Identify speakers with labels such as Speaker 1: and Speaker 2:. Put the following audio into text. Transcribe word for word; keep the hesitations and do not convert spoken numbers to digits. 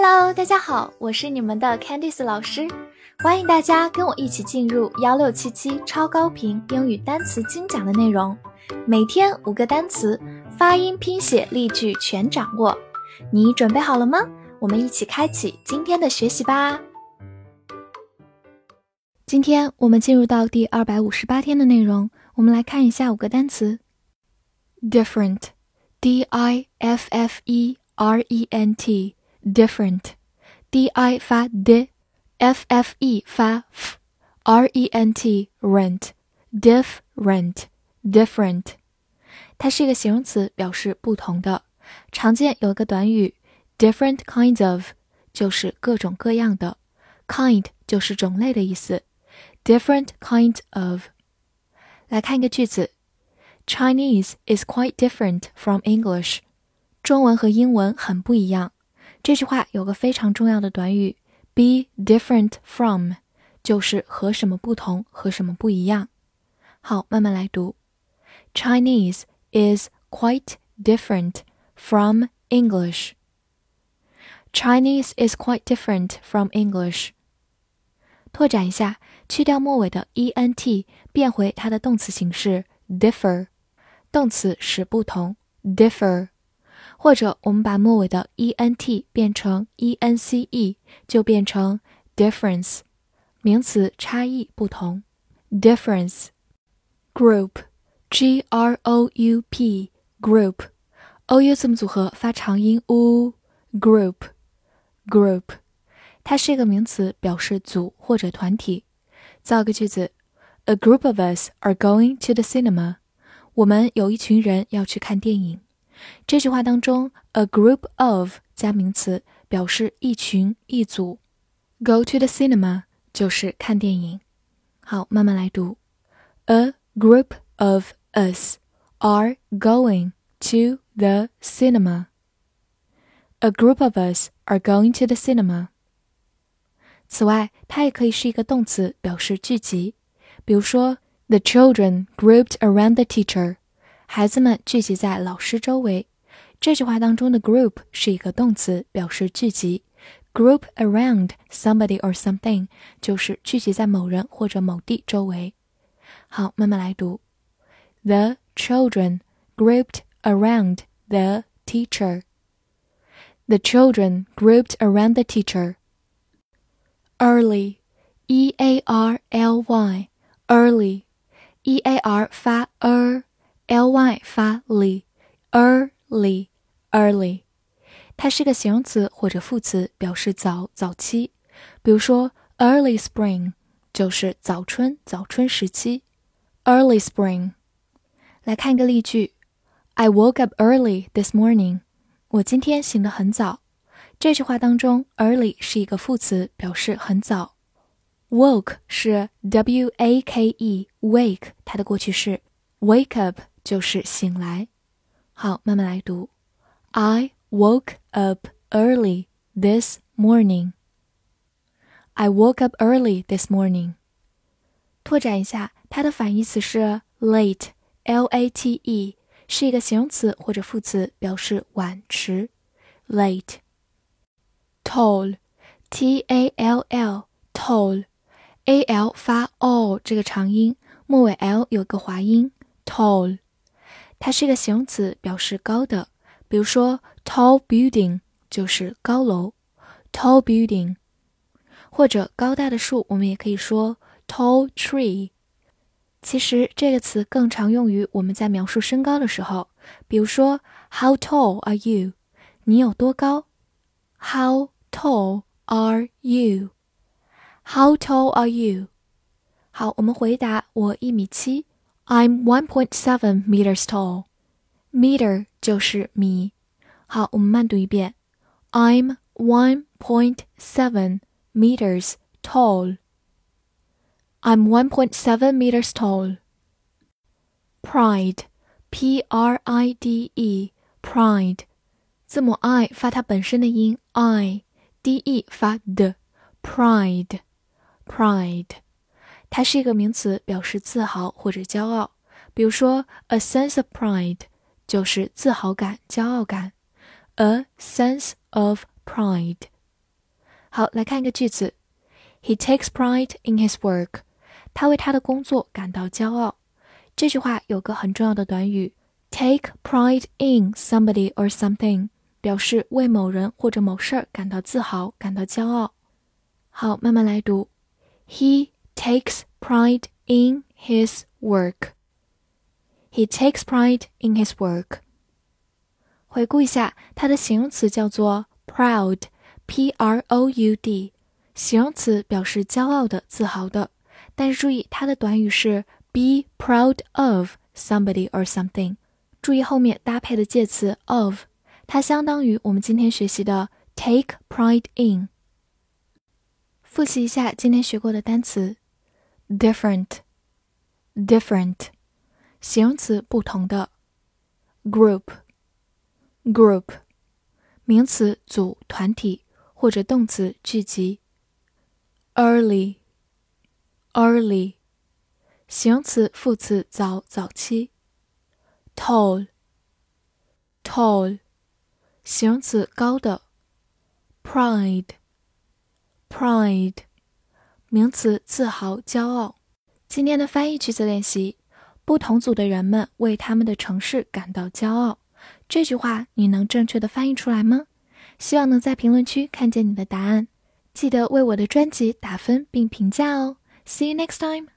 Speaker 1: Hello， 大家好，我是你们的 Candice 老师，欢迎大家跟我一起进入一六七七超高频英语单词精讲的内容，每天五个单词，发音、拼写、例句全掌握。你准备好了吗？我们一起开启今天的学习吧。今天我们进入到第二百五十八天的内容，我们来看一下五个单词。Different, D I F F E R E N T, different, D I 发 d, F F E 发 f, R E N T, rent, different, different. 它是一个形容词，表示不同的。常见有一个短语 different kinds of, 就是各种各样的， kind 就是种类的意思， different kinds of. 来看一个句子， Chinese is quite different from English. 中文和英文很不一样。这句话有个非常重要的短语 be different from, 就是和什么不同，和什么不一样。好，慢慢来读。Chinese is quite different from English. Chinese is quite different from English. 拓展一下，去掉末尾的 ent 变回它的动词形式 differ, 动词使不同 differ, 或者我们把末尾的 ent 变成 ence 就变成 difference, 名词差异不同 difference. Group, G R O U P, group, ou 字母组合发长音 u, group, group. 它是一个名词，表示组或者团体。造个句子 A group of us are going to the cinema. 我们有一群人要去看电影。这句话当中 a group of 加名词，表示一群一组。Go to the cinema 就是看电影。好，慢慢来读。A group of us are going to the cinema. A group of us are going to the cinema. 此外，它也可以是一个动词，表示聚集。比如说 The children grouped around the teacher. 孩子们聚集在老师周围。这句话当中的 group 是一个动词，表示聚集。Group around somebody or something 就是聚集在某人或者某地周围。好，慢慢来读。The children grouped around the teacher. The children grouped around the teacher. Early, E A R L Y, early, E A R 发 er,L Y 发 li, early, early. 它是个形容词或者副词，表示早、早期。比如说 early spring 就是早春、早春时期。early spring. 来看一个例句 I woke up early this morning. 我今天醒得很早。这句话当中 early 是一个副词，表示很早。woke 是 W A K E, wake 它的过去式。wake up就是醒来。好，慢慢来读。I woke up early this morning. I woke up early this morning. 拓展一下，它的反义词是 late, L A T E, 是一个形容词或者副词，表示晚迟。late. Tall, T A L L, tall, A L 发 o 这个长音，末尾 L 有个滑音。tall. 它是一个形容词，表示高的。比如说 tall building 就是高楼 tall building. 或者高大的树，我们也可以说 tall tree. 其实这个词更常用于我们在描述身高的时候，比如说 How tall are you? 你有多高？ How tall are you? How tall are you? 好，我们回答我一米七。I'm one point seven meters tall. Meter 就是米。好，我们慢读一遍。I'm one point seven meters tall. I'm one point seven meters tall. Pride, P R I D E, pride. 字母 I 发它本身的音 I, D E 发的 pride, pride. 它是一个名词，表示自豪或者骄傲。比如说 a sense of pride 就是自豪感、骄傲感。A sense of pride 好，来看一个句子。He takes pride in his work. 他为他的工作感到骄傲。这句话有个很重要的短语 take pride in somebody or something， 表示为某人或者某事儿感到自豪，感到骄傲。好，慢慢来读。He takes pride in his work. He takes pride in his work. 回顾一下，它的形容词叫做 proud, P R O U D， 形容词表示骄傲的、自豪的。但是注意，它的短语是 be proud of somebody or something。注意后面搭配的介词 of， 它相当于我们今天学习的 take pride in。复习一下今天学过的单词 different, different， 形容词不同的 group, group， 名词组、团体或者动词聚集 early, early， 形容词副词早、早期 tall, tall， 形容词高的 pride, pride， 名词自豪、骄傲。今天的翻译句子练习，不同组的人们为他们的城市感到骄傲。这句话你能正确的翻译出来吗？希望能在评论区看见你的答案。记得为我的专辑打分并评价哦。See you next time!